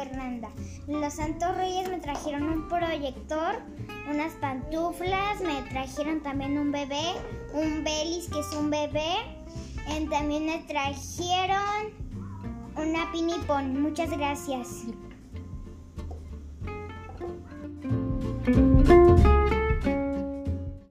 Fernanda. Los Santos Reyes me trajeron un proyector, unas pantuflas, me trajeron también un bebé, un Belis que es un bebé. También me trajeron una pinipón. Muchas gracias.